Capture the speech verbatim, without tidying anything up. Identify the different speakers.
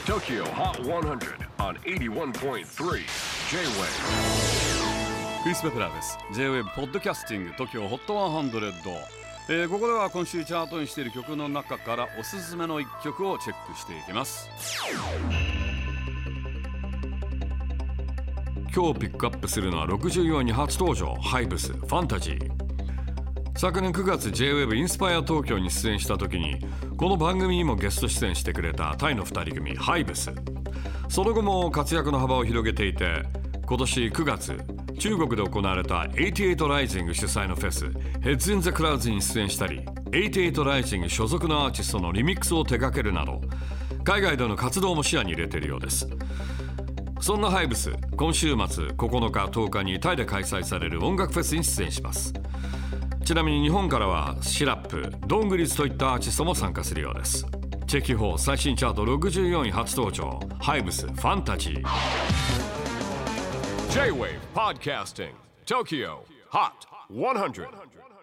Speaker 1: Tokyo Hot one hundred on エイティワンポイントスリー J-Wave。
Speaker 2: クリス・ベプラーです。 J-Wave ポッドキャスティング TOKYO ホットひゃく、えー、ここでは今週チャートにしている曲の中からおすすめのいっきょくをチェックしていきます。今日ピックアップするのはろくじゅうよんいに初登場、ハイブスファンタジー。昨年くがつ J-Wave インスパイア東京に出演した時にこの番組にもゲスト出演してくれたタイのふたり組ハイブス。その後も活躍の幅を広げていて、今年くがつ中国で行われたはちじゅうはち Rising 主催のフェス Heads in the Clouds に出演したり、はちじゅうはち Rising 所属のアーティストのリミックスを手掛けるなど海外での活動も視野に入れているようです。そんなハイブス、今週末ここのかとおかにタイで開催される音楽フェスに出演します。ちなみに日本からはシラップ、ドングリズといったアーティストも参加するようです。チェキホー最新チャートろくじゅうよんい初登場、ハイブスファンタジー。
Speaker 1: J-Wave Podcasting Tokyo Hot ひゃく。